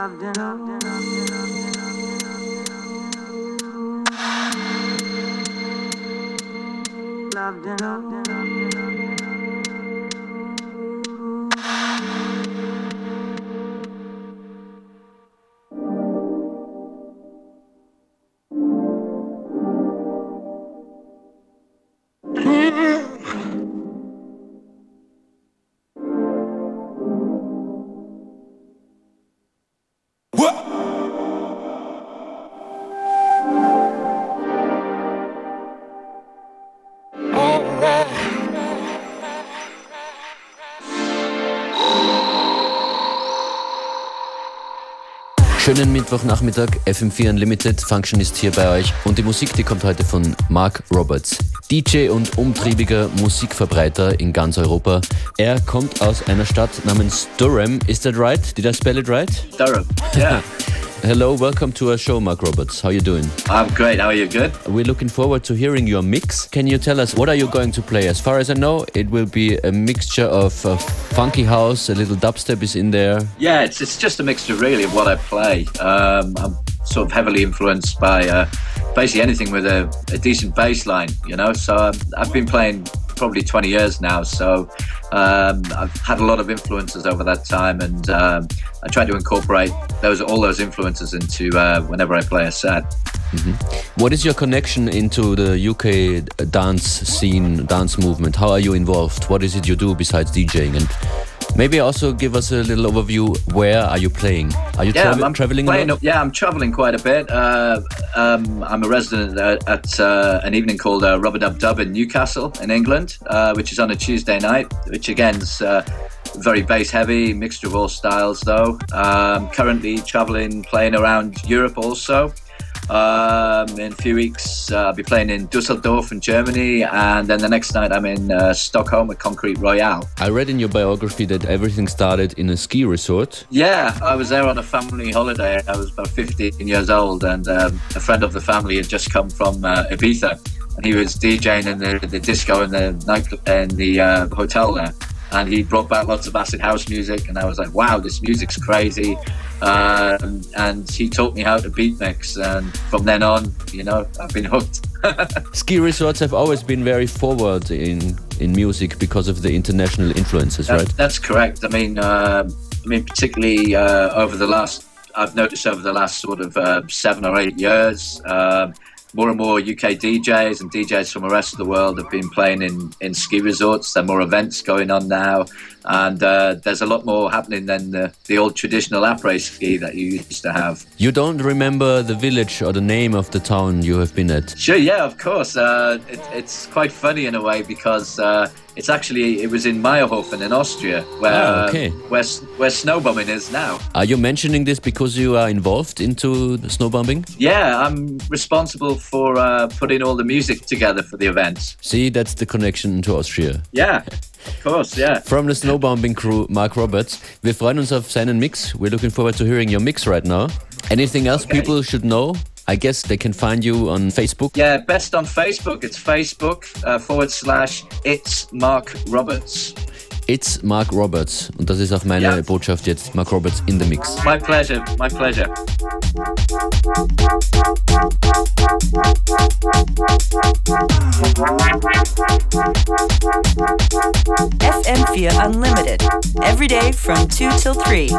Schönen Mittwochnachmittag, FM4 Unlimited, Functionist hier bei euch. Und die Musik, die kommt heute von Mark Roberts. DJ und umtriebiger Musikverbreiter in ganz Europa. Er kommt aus einer Stadt namens Durham. Is that right? Did I spell it right? Durham, yeah. Hello, welcome to our show, Mark Roberts. How are you doing? I'm great, how are you? Good? We're looking forward to hearing your mix. Can you tell us, what are you going to play? As far as I know, it will be a mixture of funky house, a little dubstep is in there. Yeah, it's just a mixture really of what I play. I'm sort of heavily influenced by basically anything with a decent bass line, you know? So I've been playing probably 20 years now, so I've had a lot of influences over that time, and I try to incorporate all those influences into whenever I play a set. Mm-hmm. What is your connection into the UK dance scene, dance movement? How are you involved? What is it you do besides DJing? And maybe also give us a little overview. Where are you playing? Are you traveling a lot? Yeah, I'm traveling quite a bit. I'm a resident at an evening called Rubber Dub Dub in Newcastle in England, which is on a Tuesday night, which again is very bass heavy, mixture of all styles though. Currently traveling, playing around Europe also. In a few weeks I'll be playing in Dusseldorf in Germany, and then the next night I'm in Stockholm at Concrete Royale. I read in your biography that everything started in a ski resort. Yeah, I was there on a family holiday. I was about 15 years old, and a friend of the family had just come from Ibiza, and he was DJing in the disco in the nightclub in the hotel there. And he brought back lots of acid house music, and I was like, wow, this music's crazy. And he taught me how to beat mix, and from then on, you know, I've been hooked. Ski resorts have always been very forward in music because of the international influences, right? That's correct. I mean, particularly I've noticed over the last sort of 7 or 8 years, more and more UK DJs and DJs from the rest of the world have been playing in ski resorts. There are more events going on now, and there's a lot more happening than the old traditional après ski that you used to have. You don't remember the village or the name of the town you have been at? Sure, yeah, of course. It's quite funny in a way, because it was in Meyerhofen in Austria, where snowbombing is now. Are you mentioning this because you are involved into snowbombing? Yeah, I'm responsible for putting all the music together for the events. See, that's the connection to Austria. Yeah, of course, yeah. From the snowbombing crew, Mark Roberts. Wir freuen uns auf seinen Mix. We're looking forward to hearing your mix right now. Anything else people should know? I guess they can find you on Facebook. Yeah, best on Facebook. It's Facebook /It's Mark Roberts. It's Mark Roberts. Und das ist auch meine Botschaft jetzt. Mark Roberts in the Mix. My pleasure, my pleasure. FM4 Unlimited. Every day from 2 till 3.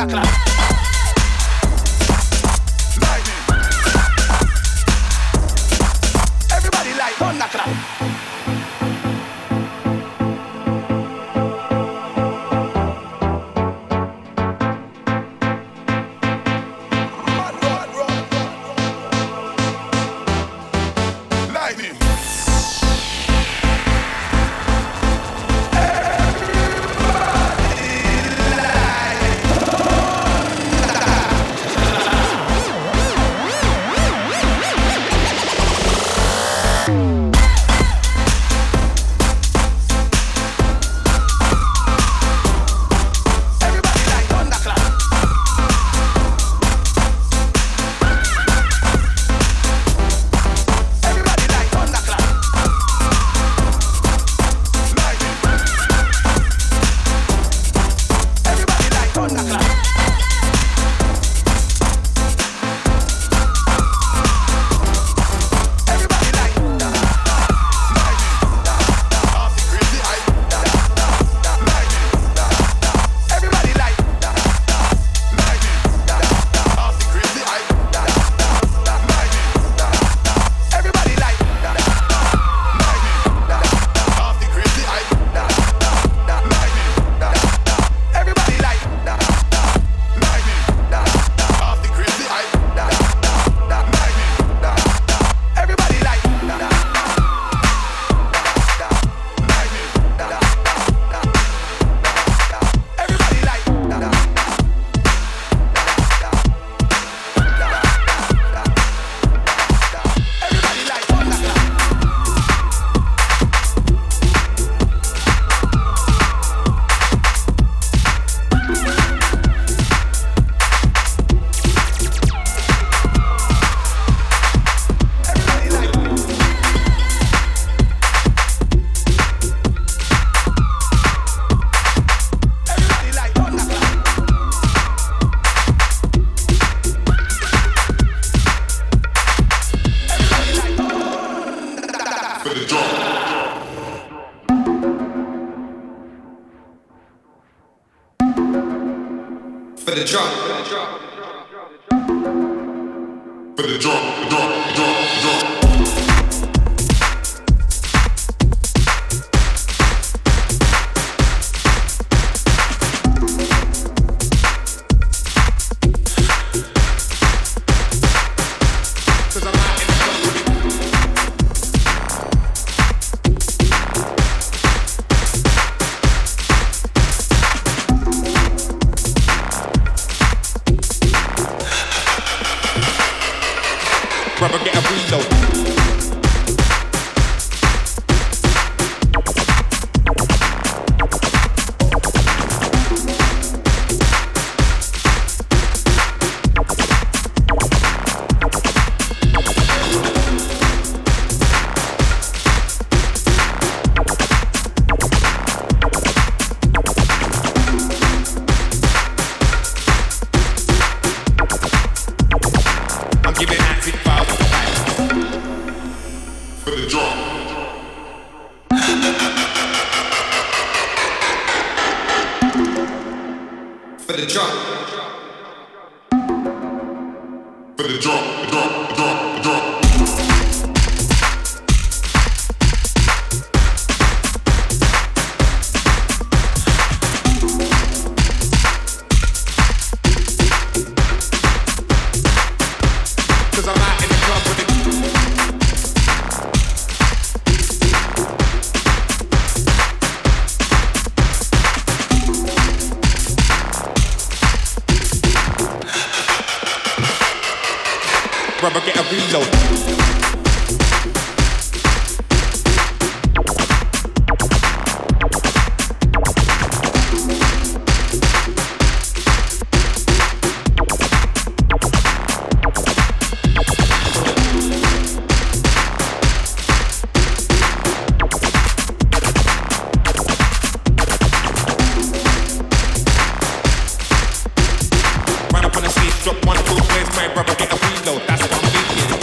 For the drum. For the drum. Rubber get a reload. I'm giving acid files for the drum. For the drum. For the drum. Cause I'm out in the club with it. Rubber get a reload. Run up on the stage, drop one, two, where's my rubber get a reload? That's what I'm thinking.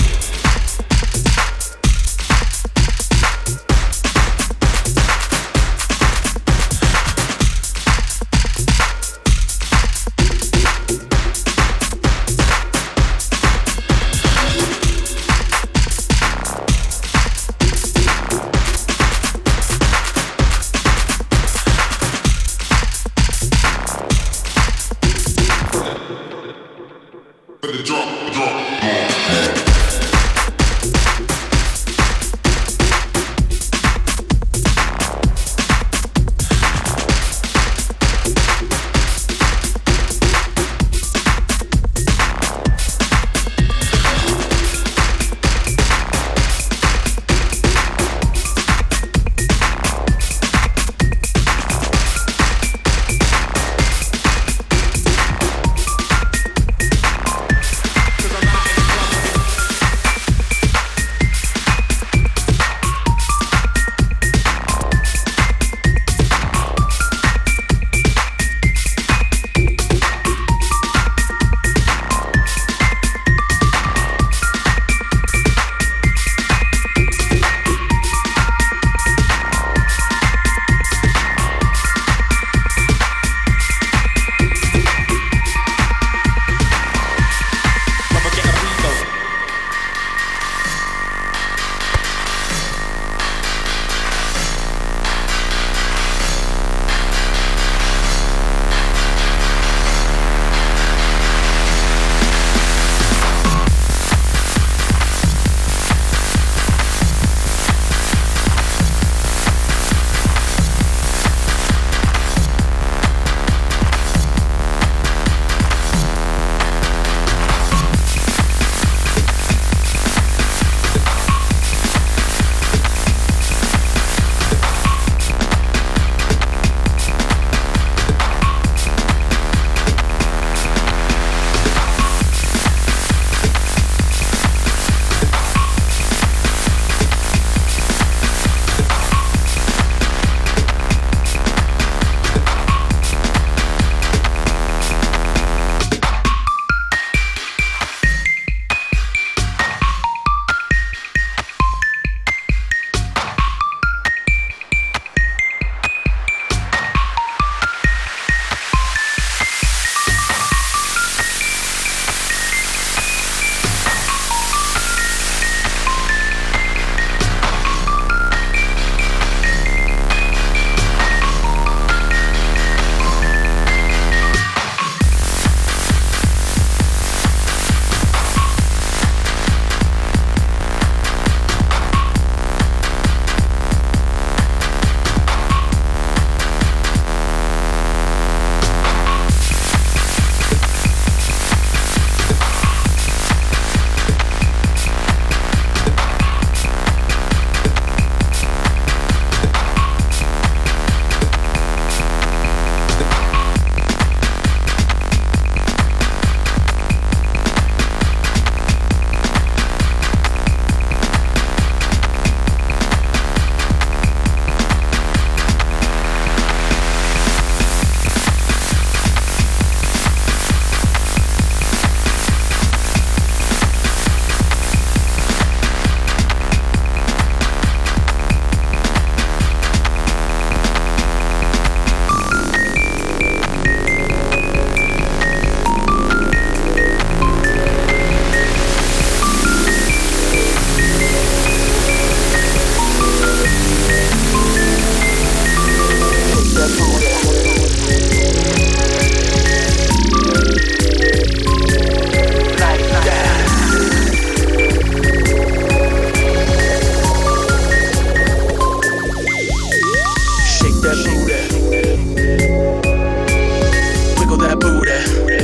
that booty.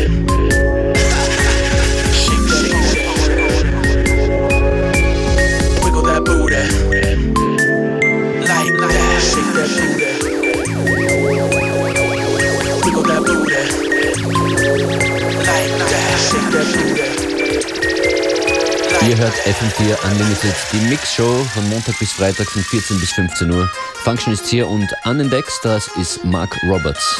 Shake that booty. Wiggle that booty. Like that. Shake that booty. Wiggle that booty. Like that. Shake that booty. Ihr hört FM4 Unlimited, die Mix-Show von Montag bis Freitag von 14 bis 15 Uhr. Function ist hier und an den Decks, das ist Mark Roberts.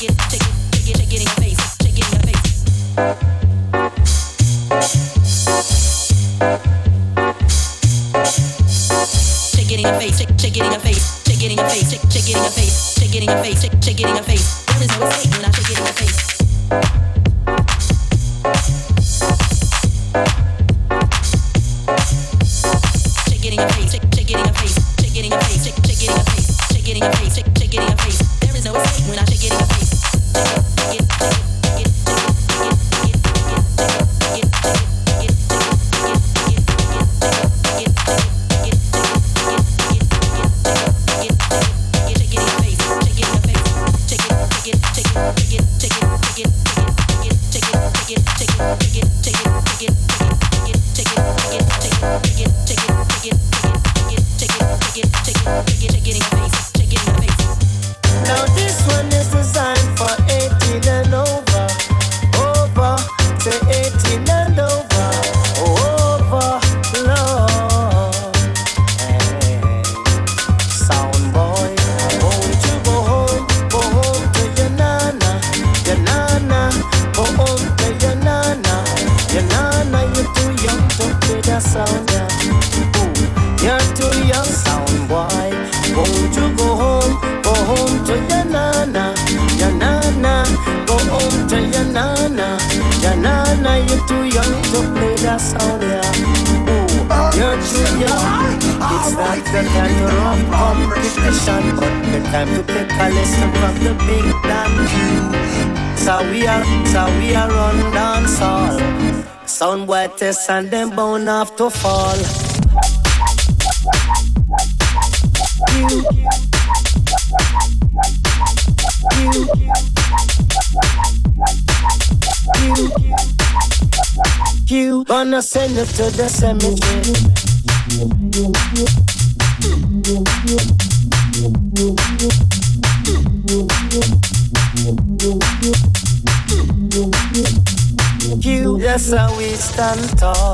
And them bound have to fall. You gonna send it to the cemetery. That's how we stand tall.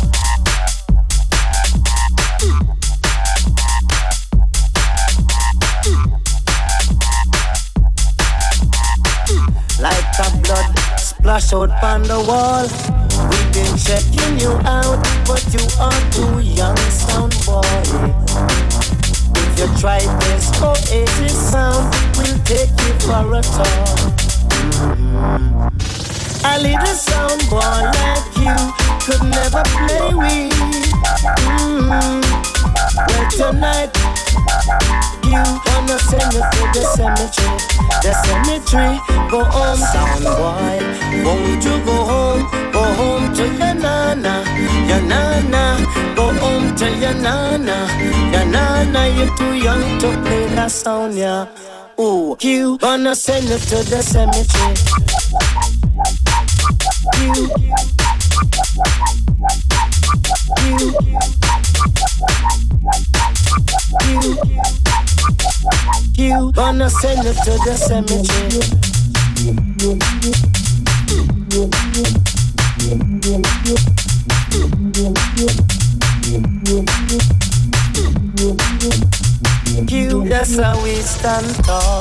Like a blood splash out on the wall. We've been checking you out, but you are too young, sound boy. If you try this Oasis sound, we'll take you for a tour. A little sound boy like you could never play with. Well, tonight you wanna send me to the cemetery. The cemetery, go home, sound boy. Won't you go home to your nana, your nana. Go home to your nana, your nana. You're too young to play that sound, yeah. Ooh, you wanna send me to the cemetery. You gonna send it to the cemetery. You, that's how we stand tall.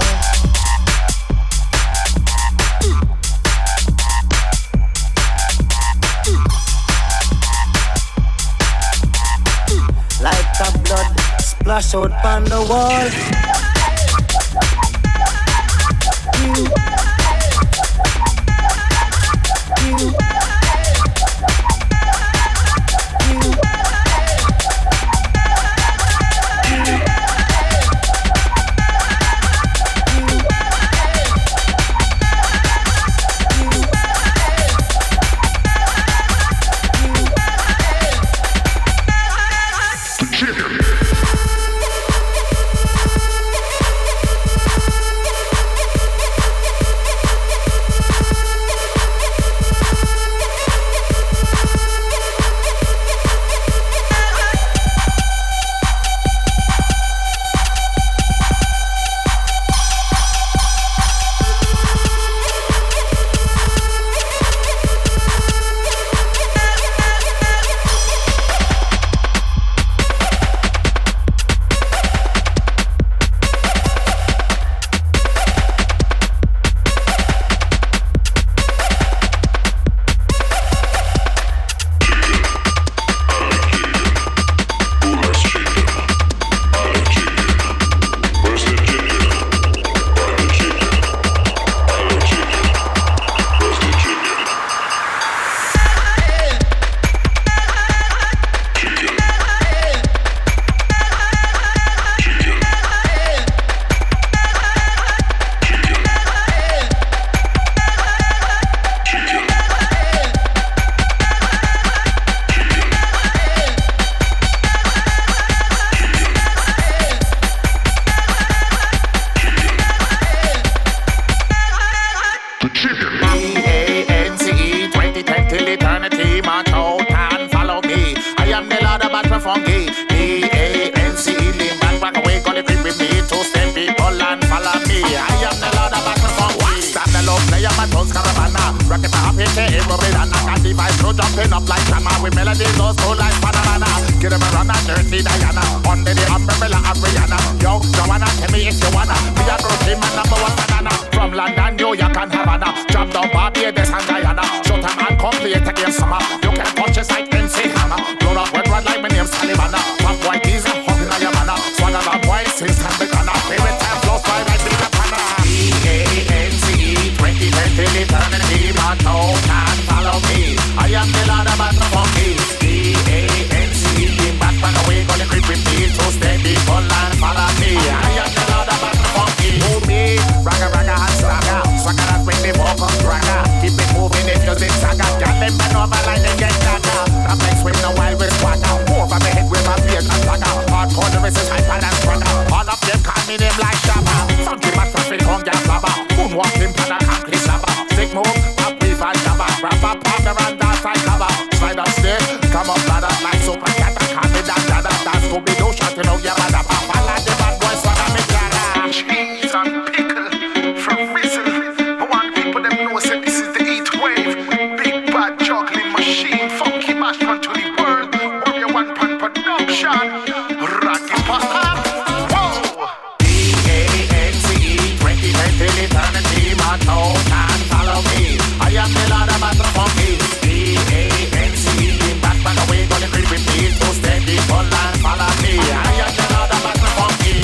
Like a blood splash out on the wall. You Tones Caravana. Rocket my happy day, Robin, and the vibes go jumping up like drama. With melodies those go like banana. Give them a run and dirty Diana. Under the umbrella of Rihanna. Yo, Joanna, tell me if you wanna be a groupie man number one banana. From London, New York and Havana. Jump down Barbados and Guyana. Shut up and come play it again summer. You can punch us like MC Hammer. Blow up wet run like my name's Talibana. Pop boy, these are hungry like your manna. Swagger that boy since time begun. Favorite time flows by like big Panna. E-A-N-C-E 2020 eternity. But no can follow me. I am the Lord of the Funky. E-A-N-C-E back by the way. Gonna creep with me. So steady, full and follow me. I am the Lord of the Funky. Move me. Ragga, ragga, and swagger. Swagger that when they walk on ragga. Keep it moving if music saga. Y'all them bend over like they get dagger. I'm like swim the wild with swagger. Over my head with my beard and swagger. Hardcore the rest is hyper and swagger. All of them call me name like Shabba. Funky man traffic on gas flabber. Moonwalking pan and concrete slabber. Stick move, up weave and shabba. Grab up, partner and dance like cover. Slide up stairs, come up ladder like super cat and call me that dada. That's Scooby-Doo shouting out your mother. Papa like the bad boy swagger me clara. Cheese and pickle from Rizzle. I want people them know say this is the heat wave. Big bad juggling machine. Funky mash run to the world. Warrior One Pan production. Rocky Pasta. Whoa! E-A-N-C-E 2020 eternity. But no can follow me. I am the Lord of the Funky. E-A-N-C-E back by the way. Gonna creep with me. So steady, full and follow me. I am the Lord of the Funky.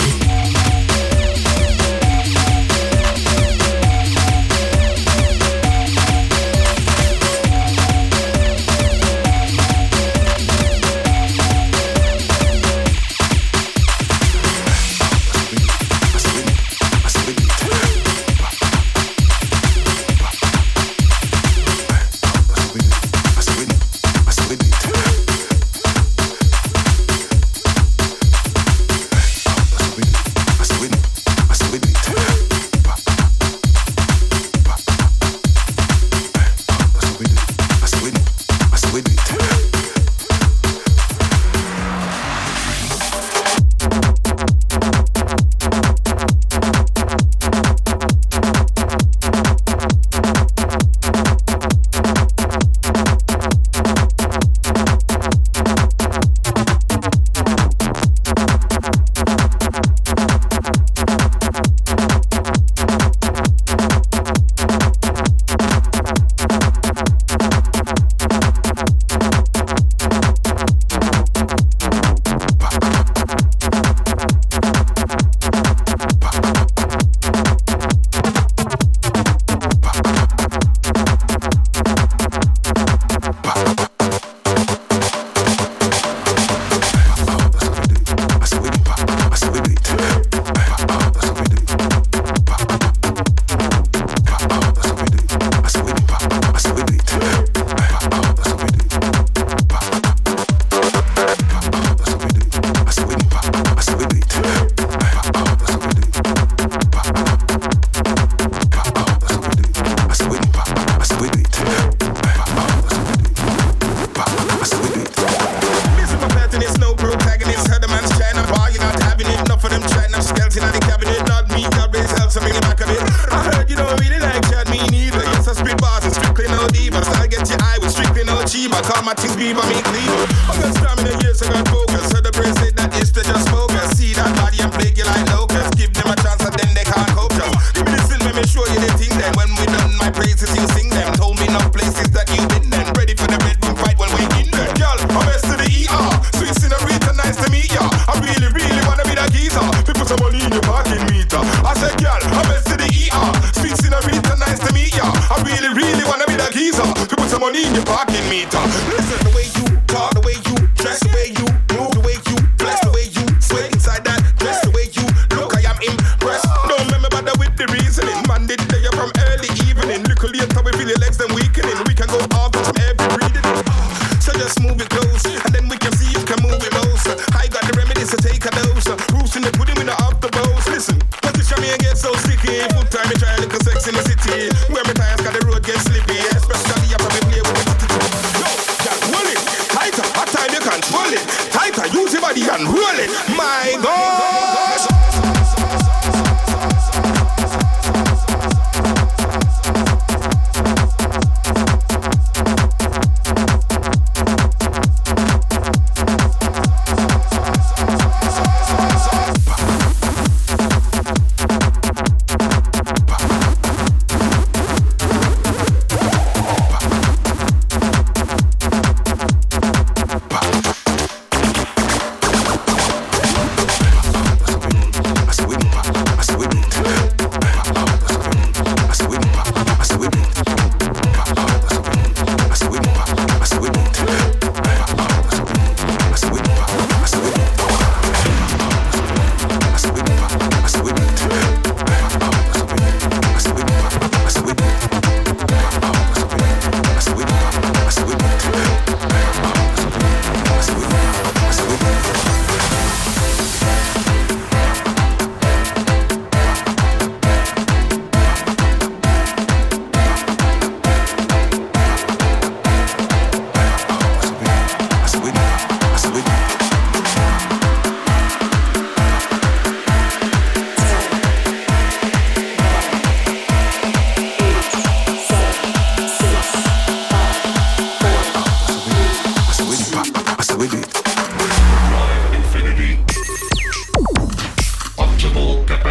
Dress, the way you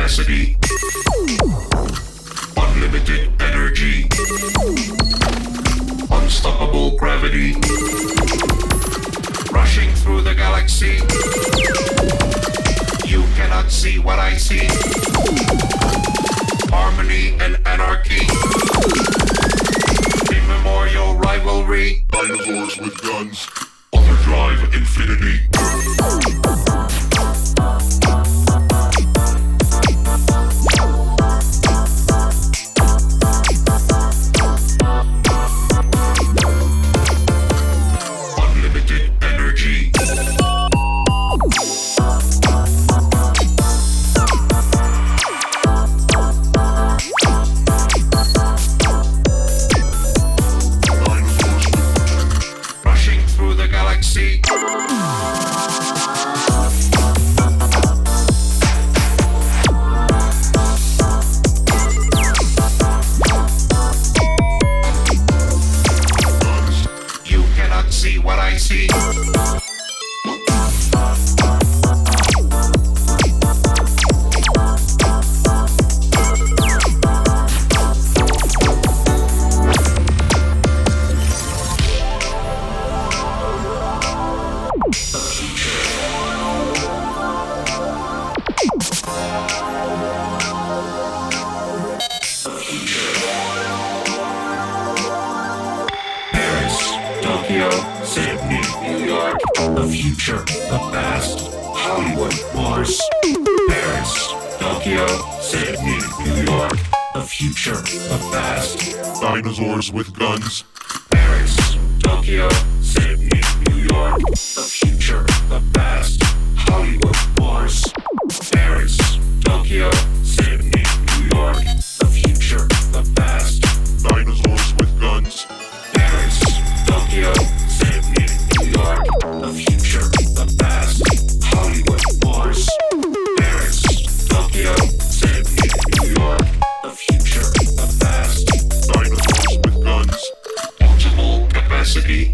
capacity. Unlimited energy. Unstoppable gravity. Rushing through the galaxy. You cannot see what I see. Harmony and anarchy. Immemorial rivalry. Dinosaurs with guns. Overdrive infinity. Unlimited energy. Rushing through the galaxy. You cannot see what I see. Paris, Tokyo, Sydney, New York, the future, the past, Hollywood, Mars. Paris, Tokyo, Sydney, New York, the future, the past, dinosaurs with guns. Paris, Tokyo, Sydney, New York, the future, the past, Hollywood, Mars. Paris, Tokyo, Sydney, New York, the future, the past, dinosaurs with guns. Paris, Tokyo, Sydney, New York, the future, the past, Hollywood, Mars. Paris, Tokyo, Sydney, New York, the future, the past, dinosaurs with guns. Optimal capacity.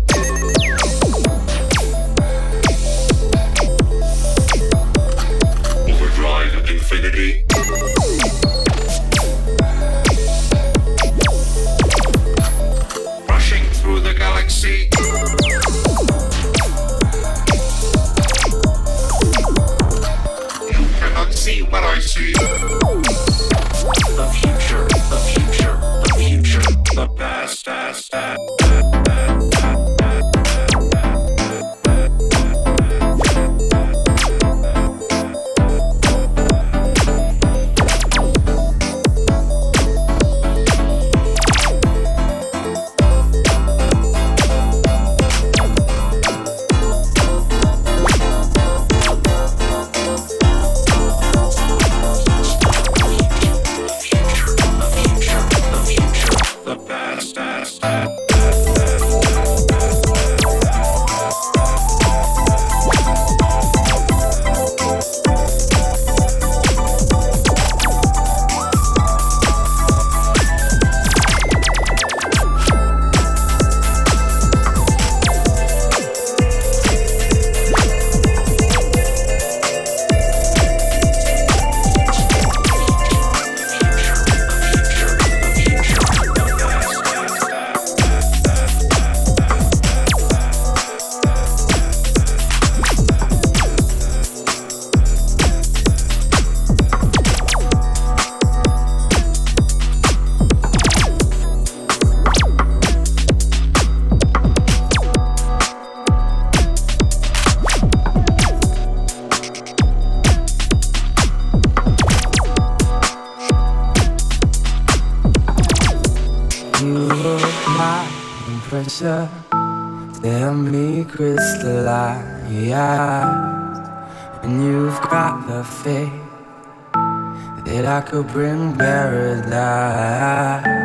Overdrive infinity. Rushing through the galaxy. You cannot see what I see. The future, the future, the future, the past, past, past. pressure, tell me crystallized. And you've got the faith that I could bring paradise.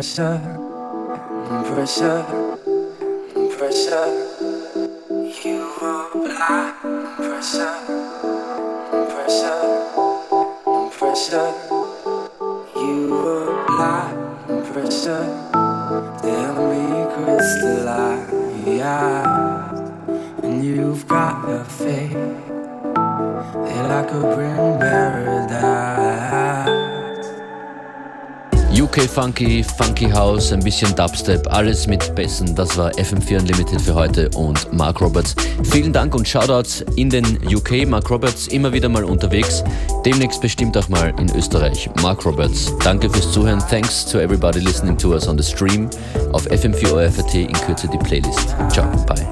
pressure, pressure, pressure. You apply pressure, pressure, pressure. You apply pressure. Tell me crystallize, and you've got the faith that I could bring paradise. UK Funky, Funky House, ein bisschen Dubstep, alles mit Bässen. Das war FM4 Unlimited für heute und Mark Roberts. Vielen Dank und Shoutouts in den UK. Mark Roberts immer wieder mal unterwegs, demnächst bestimmt auch mal in Österreich. Mark Roberts, danke fürs Zuhören. Thanks to everybody listening to us on the stream. Auf FM4 ORFAT in Kürze die Playlist. Ciao, bye.